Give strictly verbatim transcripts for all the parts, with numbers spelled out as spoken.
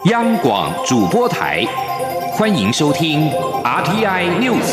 央广主播台，欢迎收听 R T I News。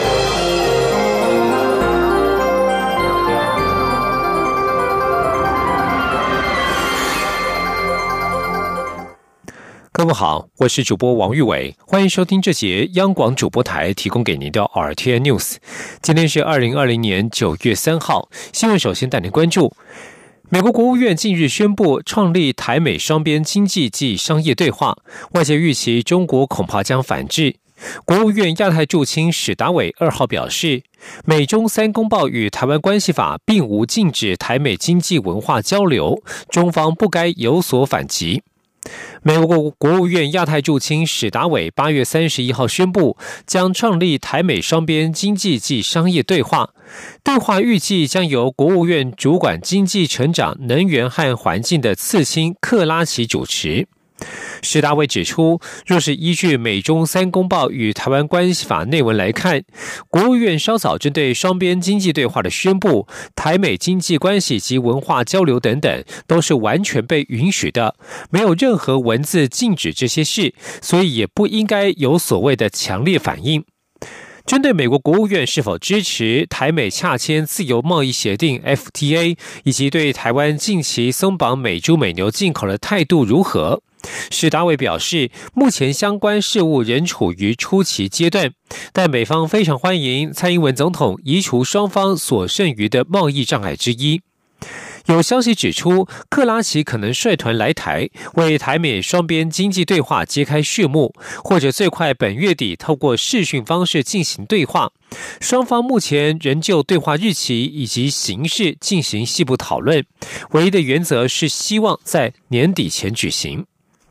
各位好，我是主播王玉伟，欢迎收听这节央广主播台提供给您的 R T I News。今天是二零二零年九月三号，新闻首先带您关注。美国国务院近日宣布创立台美双边经济及商业对话，外界预期中国恐怕将反制。国务院亚太驻青史达伟二号表示，美中三公报与台湾关系法并无禁止台美经济文化交流，中方不该有所反击。美国国务院亚太驻青史达伟八月三十一号宣布，将创立台美双边经济及商业对话。对话预计将由国务院主管经济成长、能源和环境的次卿克拉奇主持。史达伟指出，若是依据美中三公报与台湾关系法内文来看，国务院稍早针对双边经济对话的宣布，台美经济关系及文化交流等等，都是完全被允许的，没有任何文字禁止这些事，所以也不应该有所谓的强烈反应。针对美国国务院是否支持台美洽签自由贸易协定 F T A， 以及对台湾近期松绑美猪美牛进口的态度如何，史达伟表示，目前相关事务仍处于初期阶段，但美方非常欢迎蔡英文总统移除双方所剩余的贸易障碍之一。有消息指出，克拉奇可能率团来台，为台美双边经济对话揭开序幕，或者最快本月底透过视讯方式进行对话。双方目前仍就对话日期以及形式进行细部讨论，唯一的原则是希望在年底前举行。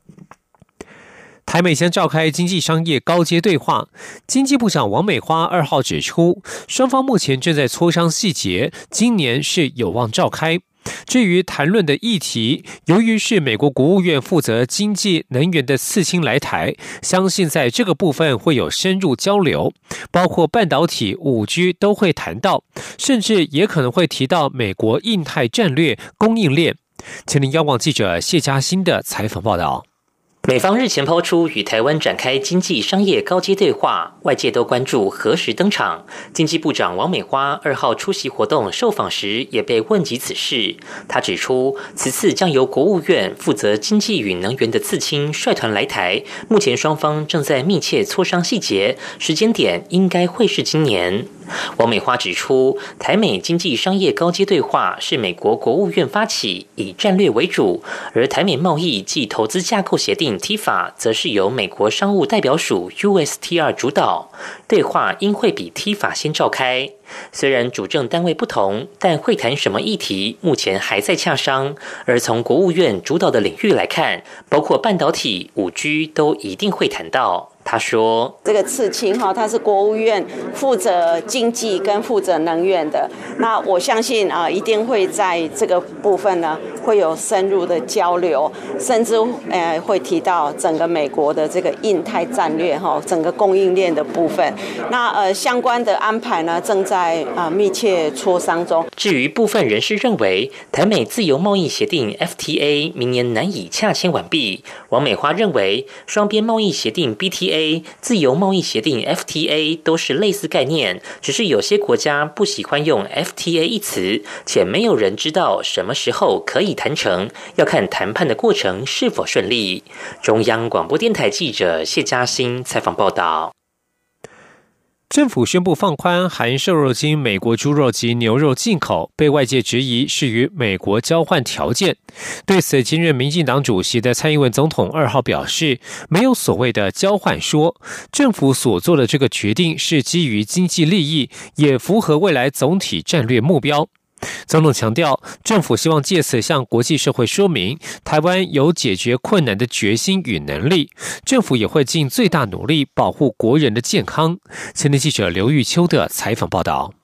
台美将召开经济商业高阶对话，经济部长王美花二号指出，双方目前正在磋商细节，今年是有望召开。至于谈论的议题，由于是美国国务院负责经济能源的次卿来台，相信在这个部分会有深入交流，包括半导体、五 G 都会谈到，甚至也可能会提到美国印太战略、供应链。请您央广记者谢嘉欣的采访报道。 美方日前抛出与台湾展开经济商业高阶对话，外界都关注何时登场。经济部长王美花二号出席活动受访时也被问及此事，他指出，此次将由国务院负责经济与能源的次卿率团来台，目前双方正在密切磋商细节，时间点应该会是今年。王美花指出，台美经济商业高阶对话是美国国务院发起，以战略为主，而台美贸易暨投资架构协定 T I F A 则是由美国商务代表署 U S T R 主导，对话应会比 T I F A 先召开。虽然主政单位不同，但会谈什么议题目前还在洽商，而从国务院主导的领域来看，包括半导体、五 G 都一定会谈到。他说， 这个次卿哈，他是国务院负责经济跟负责能源的，那我相信啊、呃，一定会在这个部分呢会有深入的交流，甚至呃会提到整个美国的这个印太战略哈，整个供应链的部分。那呃相关的安排呢正在啊、呃、密切磋商中。 至于部分人士认为台美自由贸易协定 F T A 明年难以洽签完毕，王美花认为双边贸易协定 B T A、自由贸易协定 F T A 都是类似概念，只是有些国家不喜欢用 F T A 一词，且没有人知道什么时候可以谈成，要看谈判的过程是否顺利。中央广播电台记者谢嘉欣采访报道。 政府宣布放宽含瘦肉精美国猪肉及牛肉进口，被外界质疑是与美国交换条件。对此，今任民进党主席的蔡英文总统二号表示，没有所谓的交换说，政府所做的这个决定是基于经济利益，也符合未来总体战略目标。总统强调，政府希望借此向国际社会说明，台湾有解决困难的决心与能力，政府也会尽最大努力保护国人的健康。前天记者刘玉秋的采访报道。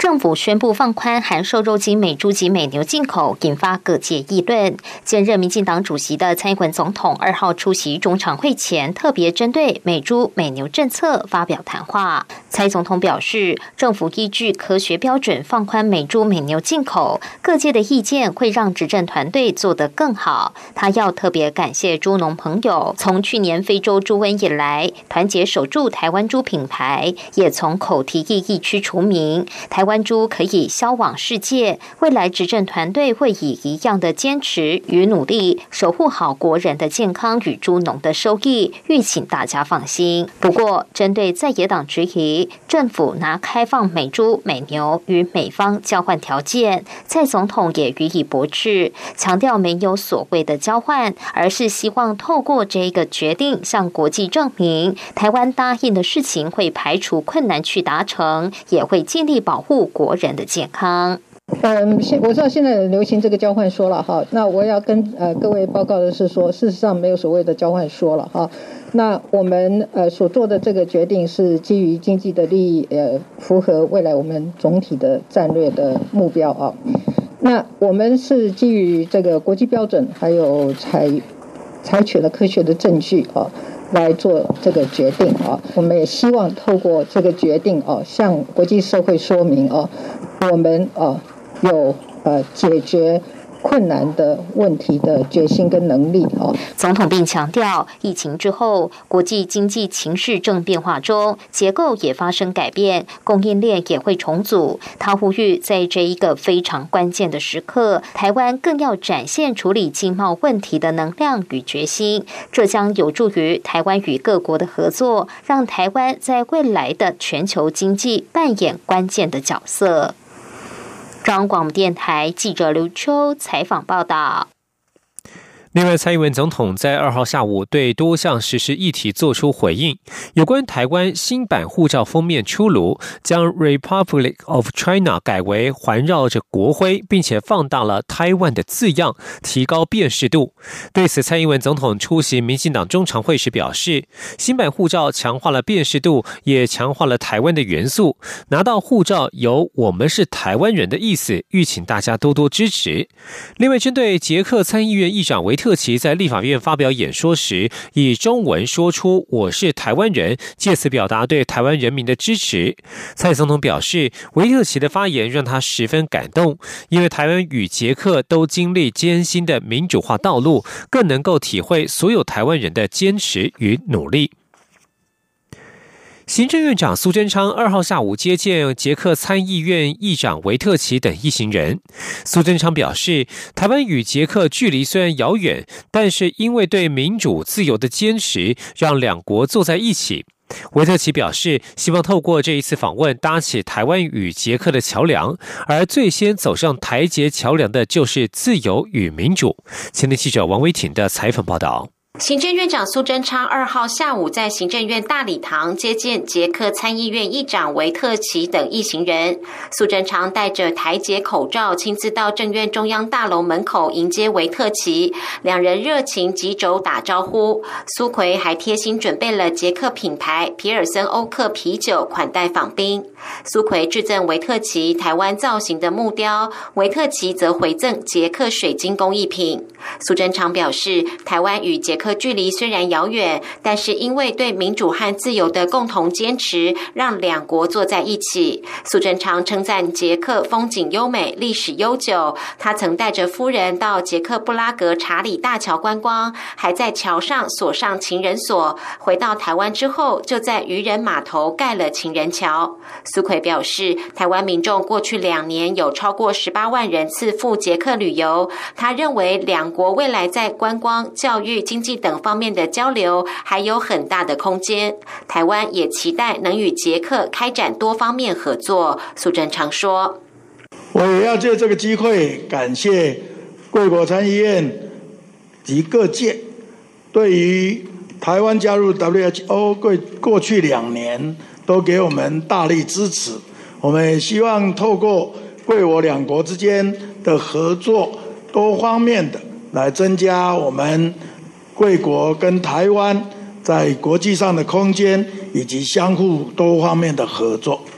政府宣布放宽含瘦肉精美猪及美牛进口，引发各界议论。现任民进党主席的蔡英文总统二号出席中常会前，特别针对美猪美牛政策发表谈话。蔡总统表示，政府依据科学标准放宽美猪美牛进口，各界的意见会让执政团队做得更好。他要特别感谢猪农朋友，从去年非洲猪瘟以来，团结守住台湾猪品牌，也从口蹄疫疫区除名，台湾猪可以销往世界。未来执政团队会以一样的坚持与努力，守护好国人的健康与猪农的收益，欲请大家放心。不过，针对在野党质疑政府拿开放美猪美牛与美方交换条件，蔡总统也予以驳斥，强调没有所谓的交换，而是希望透过这个决定向国际证明，台湾答应的事情会排除困难去达成，也会尽力保护国人的健康。 嗯，我知道现在流行这个交换说了哈，那我要跟呃各位报告的是说，事实上没有所谓的交换说了哈。那我们呃所做的这个决定是基于经济的利益，呃，符合未来我们总体的战略的目标啊。那我们是基于这个国际标准，还有采采取了科学的证据啊，来做这个决定啊。我们也希望透过这个决定啊，向国际社会说明啊，我们啊有呃解决困难的问题的决心跟能力啊。 总统并强调，疫情之后，国际经济情势正变化中，结构也发生改变，供应链也会重组。他呼吁，在这一个非常关键的时刻，台湾更要展现处理经贸问题的能量与决心，这将有助于台湾与各国的合作，让台湾在未来的全球经济扮演关键的角色。中央广播电台记者刘秋采访报道。 另外，蔡英文总统在二号下午对多项时事议题作出回应。有关台湾新版护照封面出炉，将 Republic of China 改为环绕着国徽，并且放大了 Taiwan 的字样，提高辨识度。对此，蔡英文总统出席民进党中常会时表示，新版护照强化了辨识度，也强化了台湾的元素。拿到护照有我们是台湾人的意思，欲请大家多多支持。另外，针对捷克参议院议长维特特奇在立法院发表演说时，以中文说出"我是台湾人"，借此表达对台湾人民的支持。蔡总统表示，维特奇的发言让他十分感动，因为台湾与捷克都经历艰辛的民主化道路，更能够体会所有台湾人的坚持与努力。行政院长苏贞昌二号下午接见捷克参议院议长维特奇等一行人。苏贞昌表示，台湾与捷克距离虽然遥远，但是因为对民主自由的坚持，让两国坐在一起。维特奇表示，希望透过这一次访问，搭起台湾与捷克的桥梁，而最先走上台捷桥梁的就是自由与民主。前天记者王维挺的采访报道。 行政院长苏贞昌二号下午在行政院大礼堂接见捷克参议院议长维特奇等一行人。苏贞昌戴着台捷口罩，亲自到政院中央大楼门口迎接维特奇，两人热情击肘打招呼。苏揆还贴心准备了捷克品牌皮尔森欧克啤酒款待访宾。苏揆致赠维特奇台湾造型的木雕，维特奇则回赠捷克水晶工艺品。苏贞昌表示，台湾与捷克距离虽然遥远，但是因为对民主和自由的共同坚持，让两国坐在一起。苏贞昌称赞捷克风景优美，历史悠久。他曾带着夫人到捷克布拉格查理大桥观光，还在桥上锁上情人锁。回到台湾之后，就在渔人码头盖了情人桥。苏揆表示，台湾民众过去两年有超过十八万人次赴捷克旅游。他认为两国未来在观光、教育、经济等方面的交流还有很大的空间。台湾也期待能与捷克开展多方面合作。苏贞昌说， 我也要借这个机会感谢贵国参议院及各界对于台湾加入 W H O 过去两年都给我们大力支持。我们也希望透过贵我两国之间的合作，多方面的来增加我们贵国跟台湾在国际上的空间，以及相互多方面的合作。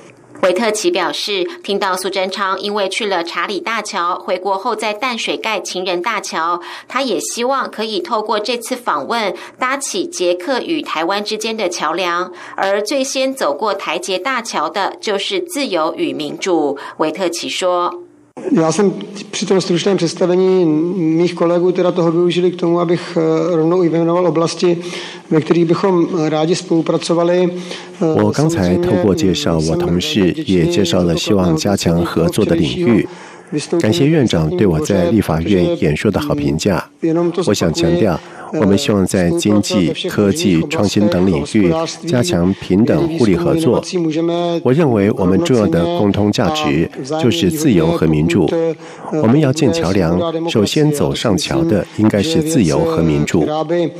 维特奇表示，听到苏贞昌因为去了查理大桥，回国后在淡水盖情人大桥，他也希望可以透过这次访问搭起捷克与台湾之间的桥梁，而最先走过台捷大桥的就是自由与民主。维特奇说。 Já jsem při tom stručném představení mých kolegů teda toho využili k tomu, abych rovnou i vyjmenoval oblasti, ve kterých bychom rádi spolupracovali. 我刚才透过介绍我同事，也介绍了希望加强合作的领域。感谢院长对我在立法院演说的好评价。我想强调，我们希望在经济、科技、创新等领域加强平等互利合作。我认为我们重要的共同价值就是自由和民主。我们要建桥梁，首先走上桥的应该是自由和民主。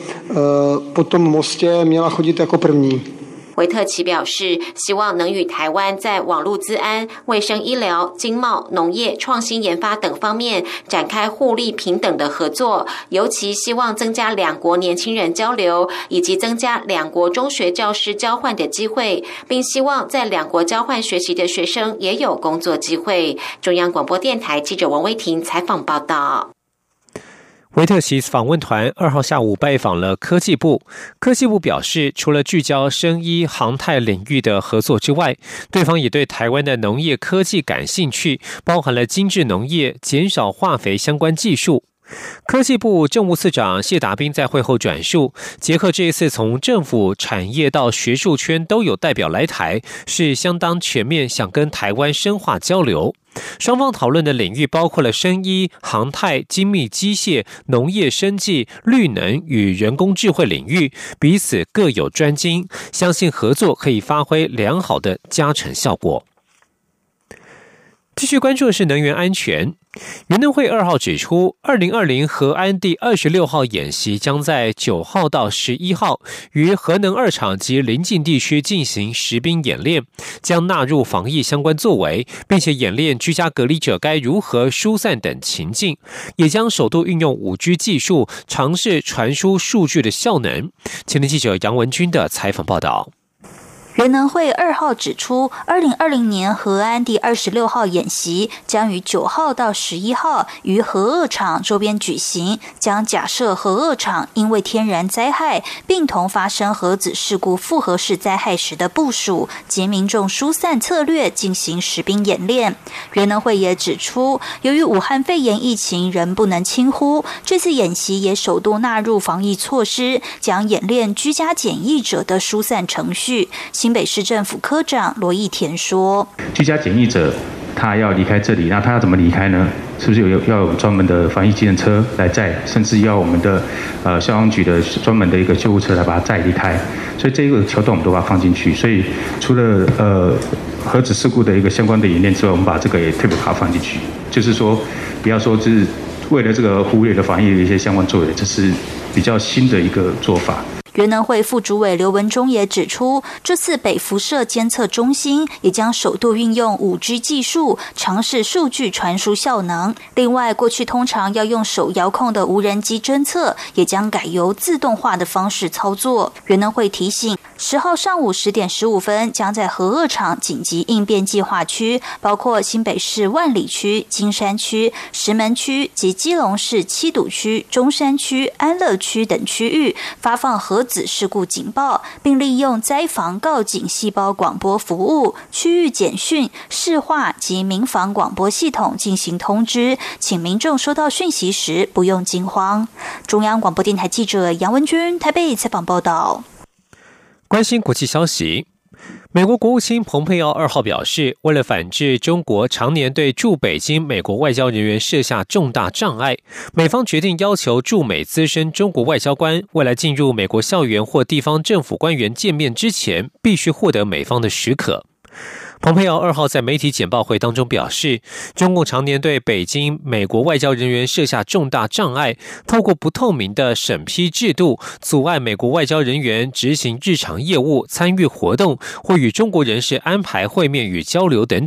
维特奇表示，希望能与台湾在网络资安、卫生医疗、经贸、农业、创新研发等方面展开互利平等的合作，尤其希望增加两国年轻人交流，以及增加两国中学教师交换的机会，并希望在两国交换学习的学生也有工作机会。中央广播电台记者王威婷采访报道。 维特奇访问团二号下午拜访了科技部。科技部表示，除了聚焦生医、航太领域的合作之外，对方也对台湾的农业科技感兴趣，包含了精致农业、减少化肥相关技术。科技部政务次长谢达斌在会后转述，捷克这一次从政府、产业到学术圈都有代表来台，是相当全面，想跟台湾深化交流。双方讨论的领域包括了生医、航太、精密机械、农业生技、绿能与人工智慧领域，彼此各有专精，相信合作可以发挥良好的加成效果。继续关注的是能源安全。原能会二号指出，二零二零核安第二十六号演习将在九号到十一号于核能二厂及邻近地区进行实兵演练，将纳入防疫相关作为，并且演练居家隔离者该如何疏散等情境，也将首度运用 五 G 技术尝试传输数据的效能。前天记者杨文君的采访报道。 原能会二号指出，二零二零年核安第二十六号演习将于九号到十一号于核二厂周边举行，将假设核二厂因为天然灾害并同发生核子事故复合式灾害时的部署及民众疏散策略进行实兵演练。原能会也指出，由于武汉肺炎疫情仍不能轻忽，这次演习也首度纳入防疫措施，将演练居家检疫者的疏散程序。新北市政府科长罗义田说：“ 居家检疫者他要离开这里，那他要怎么离开呢？是不是有要有专门的防疫计程车来载，甚至要我们的呃消防局的专门的一个救护车来把他载离开？所以这个桥段我们都把它放进去。所以除了呃核子事故的一个相关的演练之外，我们把这个也特别把它放进去，就是说不要说是为了这个忽略了防疫的一些相关作为，这是比较新的一个做法。” 原能会副主委刘文忠也指出，这次北辐射监测中心也将首度运用 五 G 技术，尝试数据传输效能。另外，过去通常要用手遥控的无人机侦测，也将改由自动化的方式操作。原能会提醒，十号上午十点十五分，将在核二厂紧急应变计划区，包括新北市万里区、金山区、石门区及基隆市七堵区、中山区、安乐区等区域发放核子事故警报，并利用灾防告警细胞广播服务、区域简讯、市话及民防广播系统进行通知，请民众收到讯息时不用惊慌。中央广播电台记者杨文君台北采访报道。 关心国际消息，美国国务卿蓬佩奥二号表示，为了反制中国常年对驻北京美国外交人员设下重大障碍，美方决定要求驻美资深中国外交官未来进入美国校园或地方政府官员见面之前，必须获得美方的许可。蓬佩奥二号在媒体简报会当中表示，中共常年对北京美国外交人员设下重大障碍，透过不透明的审批制度，阻碍美国外交人员执行日常业务、参与活动或与中国人士安排会面与交流等等。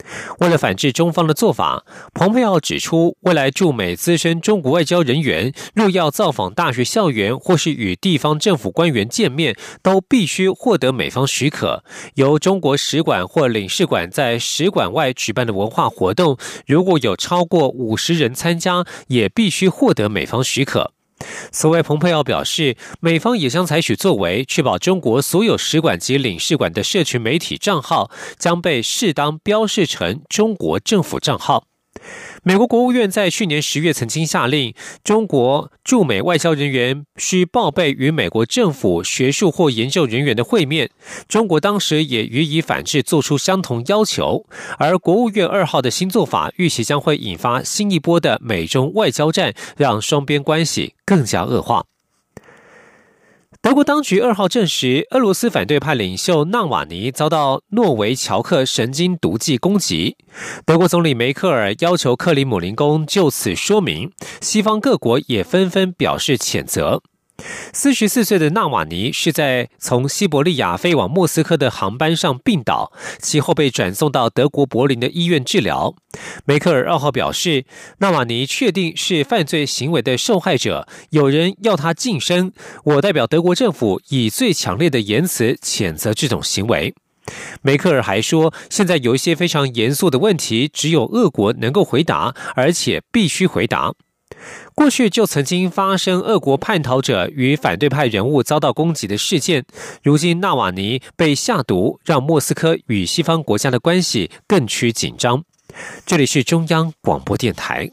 为了反制中方的做法，蓬佩奥指出，未来驻美资深中国外交人员若要造访大学校园或是与地方政府官员见面，都必须获得美方许可。由中国使馆或领事馆在使馆外举办的文化活动，如果有超过五十人参加，也必须获得美方许可。此外，蓬佩奥表示，美方也将采取作为，确保中国所有使馆及领事馆的社群媒体账号将被适当标示成中国政府账号。美国国务院在去年十月曾经下令，中国驻美外交人员需报备与美国政府、学术或研究人员的会面。中国当时也予以反制，做出相同要求。而国务院二号的新做法，预期将会引发新一波的美中外交战，让双边关系更加恶化。德国当局二号证实，俄罗斯反对派领袖纳瓦尼遭到诺维乔克神经毒剂攻击。德国总理梅克尔要求克里姆林宫就此说明，西方各国也纷纷表示谴责。四十四岁的纳瓦尼是在从西伯利亚飞往莫斯科的航班上病倒，其后被转送到德国柏林的医院治疗。梅克尔二号表示，纳瓦尼确定是犯罪行为的受害者，有人要他晋升，我代表德国政府以最强烈的言辞谴责这种行为。梅克尔还说，现在有一些非常严肃的问题，只有俄国能够回答，而且必须回答。过去就曾经发生俄国叛逃者与反对派人物遭到攻击的事件，如今纳瓦尼被下毒，让莫斯科与西方国家的关系更趋紧张。这里是中央广播电台。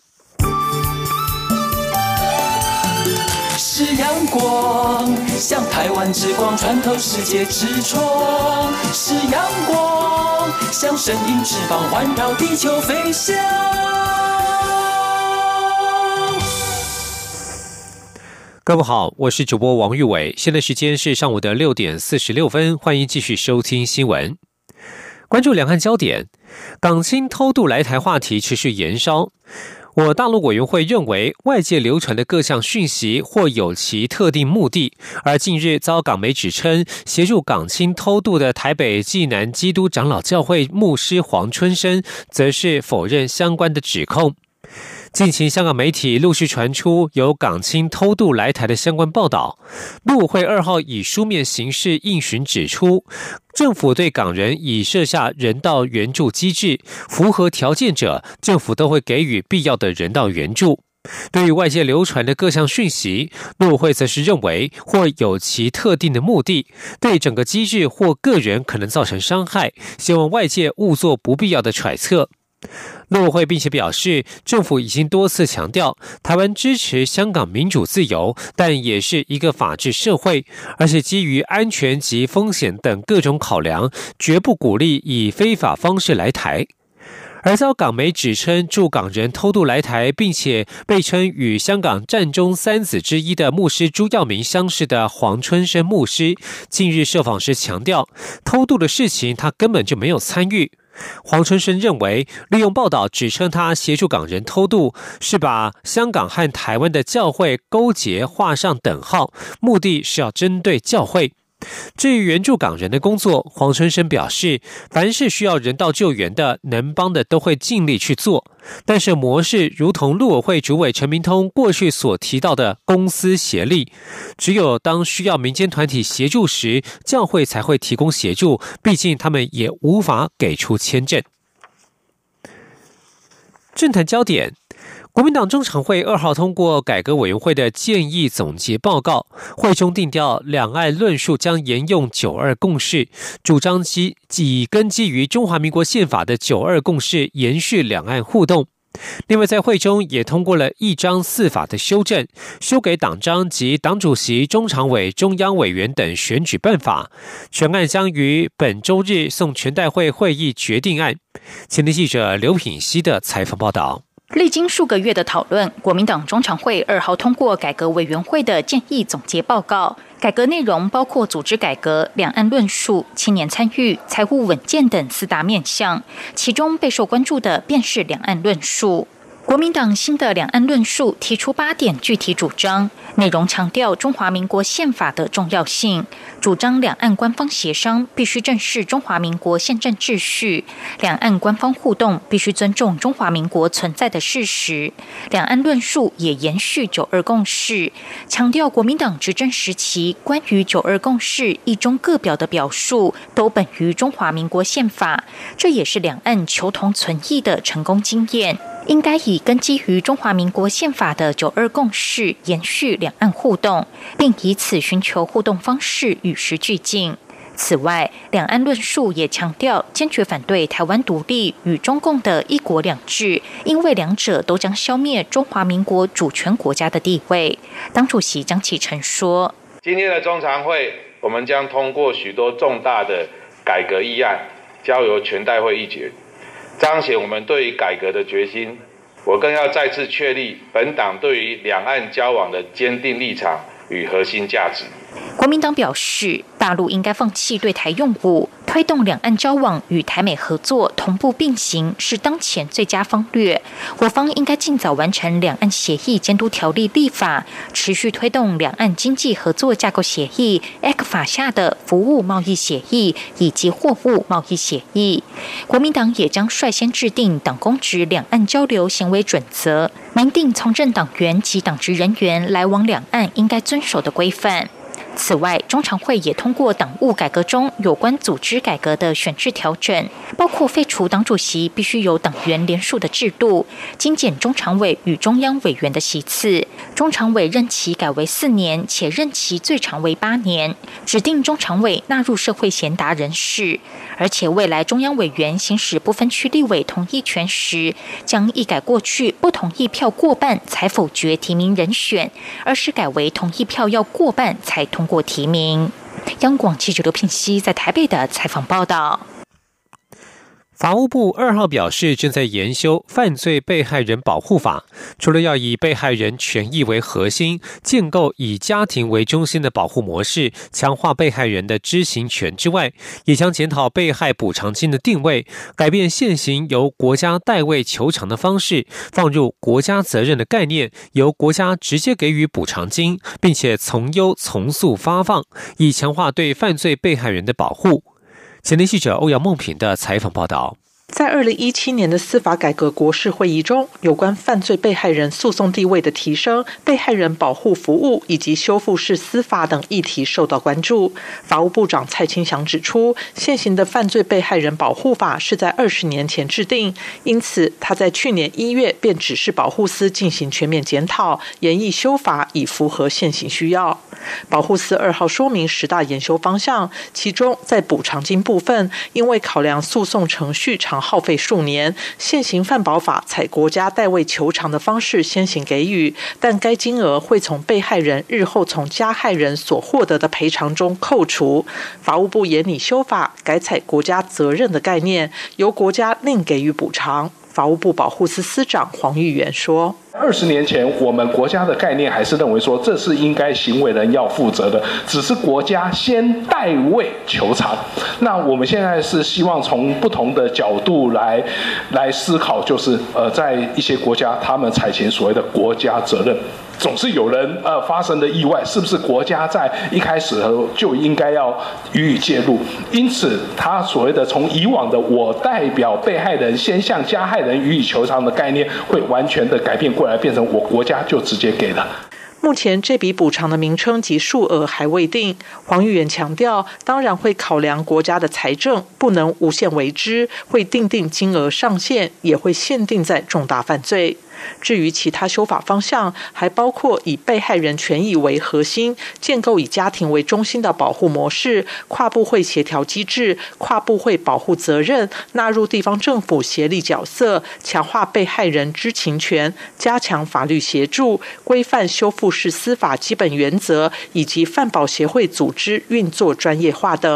是阳光，像台湾之光穿透世界之窗；是阳光，像神鹰翅膀环绕地球飞翔。 各位好，我是主播王玉伟，现在时间是上午的六点四十六分，欢迎继续收听新闻。关注两岸焦点，港青偷渡来台话题持续延烧。我大陆委员会认为，外界流传的各项讯息或有其特定目的，而近日遭港媒指称协助港青偷渡的台北济南基督长老教会牧师黄春生，则是否认相关的指控。近期香港媒体陆续传出有港青偷渡来台的相关报道。陆委会二号以书面形式应询指出，政府对港人已设下人道援助机制，符合条件者，政府都会给予必要的人道援助。对于外界流传的各项讯息，陆委会则是认为或有其特定的目的，对整个机制或个人可能造成伤害，希望外界勿做不必要的揣测。陆委会并且表示，政府已经多次强调，台湾支持香港民主自由，但也是一个法治社会，而且基于安全及风险等各种考量，绝不鼓励以非法方式来台。而遭港媒指称驻港人偷渡来台，并且被称与香港战中三子之一的牧师朱耀明相识的黄春生牧师，近日受访时强调，偷渡的事情他根本就没有参与。黄春生认为，利用报道指称他协助港人偷渡，是把香港和台湾的教会勾结画上等号，目的是要针对教会。至于援助港人的工作，黄春生表示，凡是需要人道救援的，能帮的都会尽力去做。但是模式如同陆委会主委陈明通过去所提到的公私协力，只有当需要民间团体协助时，教会才会提供协助，毕竟他们也无法给出签证。政坛焦点，国民党中常会二号通过改革委员会的建议总结报告，会中定调两岸论述将沿用九二共识，主张基以根基于中华民国宪法的九二共识延续两岸互动。另外，在会中也通过了一章四法的修正，修改党章及党主席、中常委、中央委员等选举办法。全案将于本周日送全代会会议决定案。前天记者刘品希的采访报道。 历经数个月的讨论，国民党中常会二号通过改革委员会的建议总结报告。改革内容包括组织改革、两岸论述、青年参与、财务稳健等四大面向，其中备受关注的便是两岸论述。 国民党新的两岸论述提出八点具体主张，内容强调中华民国宪法的重要性，主张两岸官方协商必须正视中华民国宪政秩序，两岸官方互动必须尊重中华民国存在的事实。两岸论述也延续九二共识，强调国民党执政时期关于九二共识一中各表的表述都本于中华民国宪法，这也是两岸求同存异的成功经验。应该以根基于中华民国宪法的九二共识延续两岸互动，并以此寻求互动方式与时俱进。此外，两岸论述也强调坚决反对台湾独立与中共的一国两制，因为两者都将消灭中华民国主权国家的地位。党主席江启臣说： 今天的中常会，我们将通过许多重大的改革议案，交由全代会议决，彰显我们对于改革的决心。我更要再次确立本党对于两岸交往的坚定立场与核心价值。 国民党表示，大陆应该放弃对台用武，推动两岸交往与台美合作同步并行，是当前最佳方略。我方应该尽早完成两岸协议监督条例立法，持续推动两岸经济合作架构协议 （E C F A 下的服务贸易协议以及货物贸易协议。国民党也将率先制定党公职两岸交流行为准则，明定从政党员及党职人员来往两岸应该遵守的规范。此外，中常会也通过党务改革中有关组织改革的选制调整，包括废除党主席必须由党员联署的制度，精简中常委与中央委员的席次，中常委任期改为四年，且任期最长为八年，指定中常委纳入社会贤达人士，而且未来中央委员行使不分区立委同意权时，将一改过去不同意票过半才否决提名人选，而是改为同意票要过半才通过提名。央广记者刘聘熙在台北的采访报道。 法务部二号表示，正在研修《犯罪被害人保护法》，除了要以被害人权益为核心，建构以家庭为中心的保护模式，强化被害人的知情权之外，也将检讨被害补偿金的定位，改变现行由国家代位求偿的方式，放入国家责任的概念，由国家直接给予补偿金，并且从优从速发放，以强化对犯罪被害人的保护。前天记者欧阳梦平的采访报道。 在二零一七年的司法改革国是会议中，有关犯罪被害人诉讼地位的提升、被害人保护服务以及修复式司法等议题受到关注。法务部长蔡清祥指出，现行的犯罪被害人保护法是在二十年前制定，因此他在去年一月便指示保护司进行全面检讨，研议修法以符合现行需要。保护司二号说明十大研修方向，其中在补偿金部分，因为考量诉讼程序长耗费数年，现行犯保法采国家代位求偿的方式先行给予，但该金额会从被害人日后从加害人所获得的赔偿中扣除。法务部研拟修法，改采国家责任的概念，由国家另给予补偿。法务部保护司司长黄玉元说， 二十年前我们国家的概念还是认为说这是应该行为人要负责的，只是国家先代位求偿。那我们现在是希望从不同的角度来来思考，就是呃在一些国家他们采取所谓的国家责任，总是有人呃发生的意外，是不是国家在一开始的时候就应该要予以介入？因此他所谓的从以往的我代表被害人先向加害人予以求偿的概念，会完全的改变过来，变成我国家就直接给了。 目前这笔补偿的名称及数额还未定。黄玉元强调，当然会考量国家的财政，不能无限为之，会订定金额上限，也会限定在重大犯罪。至于其他修法方向，还包括以被害人权益为核心，建构以家庭为中心的保护模式，跨部会协调机制，跨部会保护责任，纳入地方政府协力角色，强化被害人知情权，加强法律协助，规范修复式司法基本原则，以及犯保协会组织运作专业化等。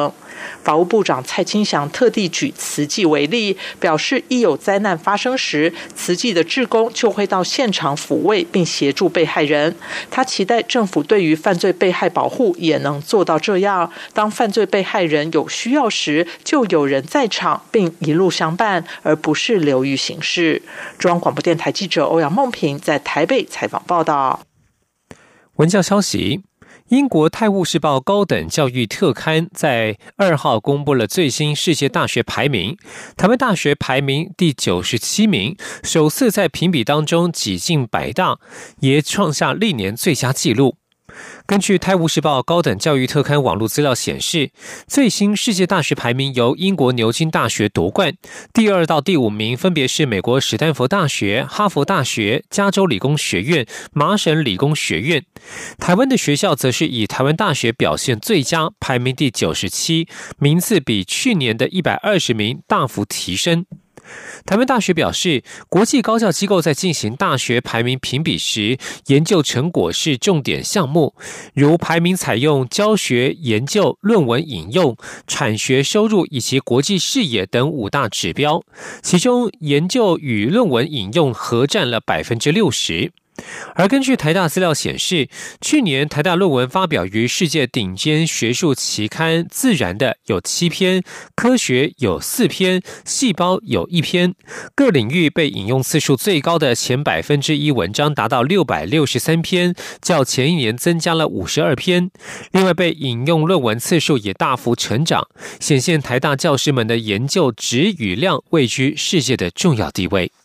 法务部长蔡清祥特地举慈济为例，表示一有灾难发生时，慈济的志工就会到现场抚慰并协助被害人。他期待政府对于犯罪被害保护也能做到这样，当犯罪被害人有需要时，就有人在场并一路相伴，而不是流于形式。中央广播电台记者欧阳梦平在台北采访报道。 文教消息，英国《泰晤士报》高等教育特刊在二号公布了最新世界大学排名，台湾大学排名第九十七名，首次在评比当中挤进百大，也创下历年最佳纪录。根据《泰晤士报》高等教育特刊网络资料显示，最新世界大学排名由英国牛津大学夺冠，第二到第五名分别是美国史丹佛大学、哈佛大学、加州理工学院、麻省理工学院。台湾的学校则是以台湾大学表现最佳，排名第九十七，名次比去年的一百二十名大幅提升。台湾大学表示，国际高教机构在进行大学排名评比时，研究成果是重点项目，如排名采用教学、研究、论文引用、产学收入以及国际视野等五大指标，其中研究与论文引用合占了 百分之六十。而根据台大资料显示，去年台大论文发表于世界顶尖学术期刊《自然》的有七篇，科学有四篇，细胞有一篇。各领域被引用次数最高的前百分之一文章达到六百六十三篇，较前一年增加了五十二篇。另外，被引用论文次数也大幅成长，显现台大教师们的研究质与量位居世界的重要地位。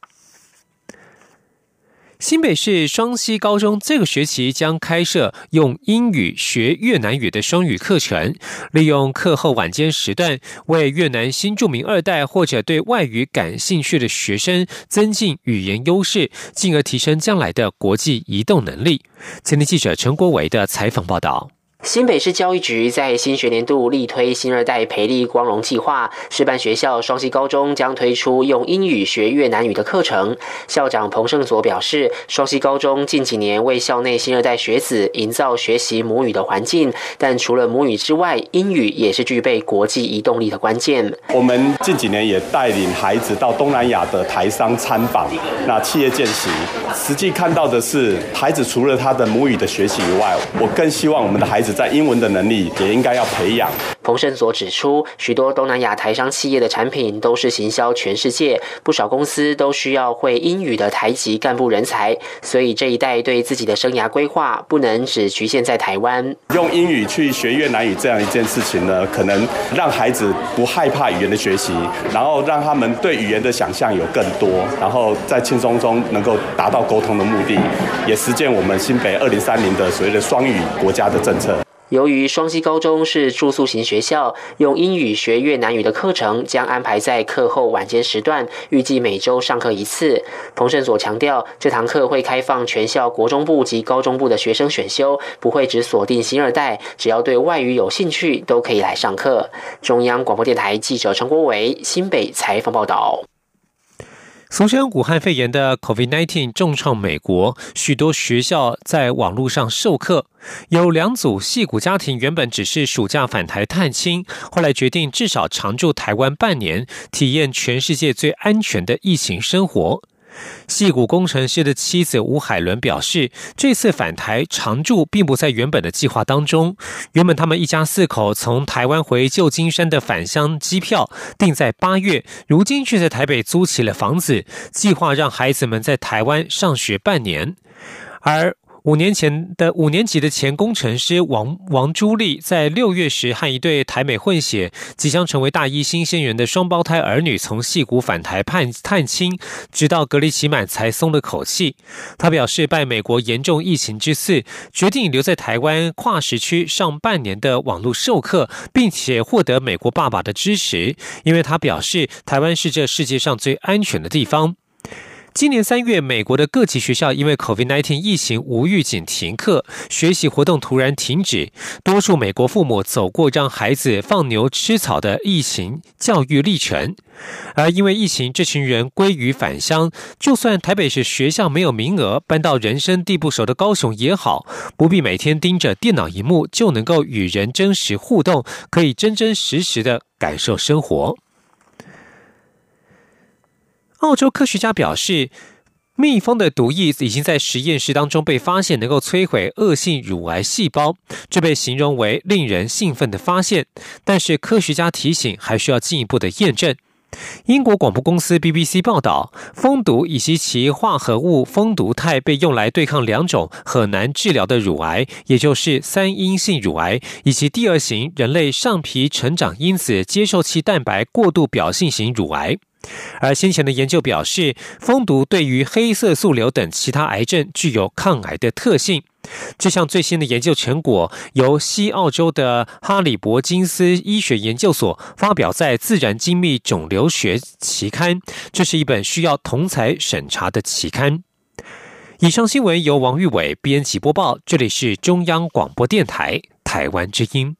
新北市双溪高中这个学期将开设用英语学越南语的双语课程，利用课后晚间时段，为越南新住民二代或者对外语感兴趣的学生增进语言优势，进而提升将来的国际移动能力。前天记者陈国维的采访报道。 新北市教育局在新学年度力推新二代培力光荣计划，示范学校双溪高中将推出用英语学越南语的课程。校长彭胜佐表示，双溪高中近几年为校内新二代学子营造学习母语的环境，但除了母语之外，英语也是具备国际移动力的关键。 我们近几年也带领孩子到东南亚的台商参访，那企业见习，实际看到的是，孩子除了他的母语的学习以外，我更希望我们的孩子在英文的能力也应该要培养。 彭胜佐指出，许多东南亚台商企业的产品都是行销全世界，不少公司都需要会英语的台籍干部人才，所以这一代对自己的生涯规划不能只局限在台湾。 用英语去学越南语这样一件事情呢，可能让孩子不害怕语言的学习，然后让他们对语言的想象有更多，然后在轻松中能够达到沟通的目的，也实践我们新北二零三零的所谓的双语国家的政策。 由于双溪高中是住宿型学校，用英语学越南语的课程将安排在课后晚间时段，预计每周上课一次。彭胜佐强调，这堂课会开放全校国中部及高中部的学生选修，不会只锁定新二代，只要对外语有兴趣都可以来上课。中央广播电台记者陈国维新北采访报道。 俗称武汉肺炎的 COVID 十九 重创美国，许多学校在网络上授课。有两组矽谷家庭原本只是暑假返台探亲，后来决定至少常驻台湾半年，体验全世界最安全的疫情生活。矽谷工程师的妻子吴海伦表示，这次返台常住并不在原本的计划当中。原本他们一家四口从台湾回旧金山的返乡机票定在八月，如今却在台北租起了房子，计划让孩子们在台湾上学半年。而五年前的五年级的前工程师王王朱丽，在六月时和一对台美混血、即将成为大一新鲜人的双胞胎儿女从矽谷返台探探亲，直到隔离期满才松了口气。他表示，拜美国严重疫情之赐，决定留在台湾跨时区上半年的网络授课，并且获得美国爸爸的支持，因为他表示台湾是这世界上最安全的地方。 今年三月，美国的各级学校因为 COVID 十九 疫情无预警停课，学习活动突然停止，多数美国父母走过让孩子放牛吃草的疫情教育历程。而因为疫情，这群人归于返乡，就算台北市学校没有名额，搬到人生地不熟的高雄也好，不必每天盯着电脑萤幕，就能够与人真实互动，可以真真实实的感受生活。澳洲科学家表示，蜜蜂的毒液已经在实验室当中被发现能够摧毁恶性乳癌细胞，这被形容为令人兴奋的发现。但是科学家提醒，还需要进一步的验证。英国广播公司 B B C 报道，蜂毒以及其化合物蜂毒肽被用来对抗两种很难治疗的乳癌，也就是三阴性乳癌以及第二型人类上皮成长因子接受器蛋白过度表性型乳癌。而先前的研究表示，蜂毒对于黑色素瘤等其他癌症具有抗癌的特性。这项最新的研究成果由西澳洲的哈里伯金斯医学研究所发表在《自然精密肿瘤学》期刊，这是一本需要同侪审查的期刊。以上新闻由王玉伟编辑播报，这里是中央广播电台台湾之音。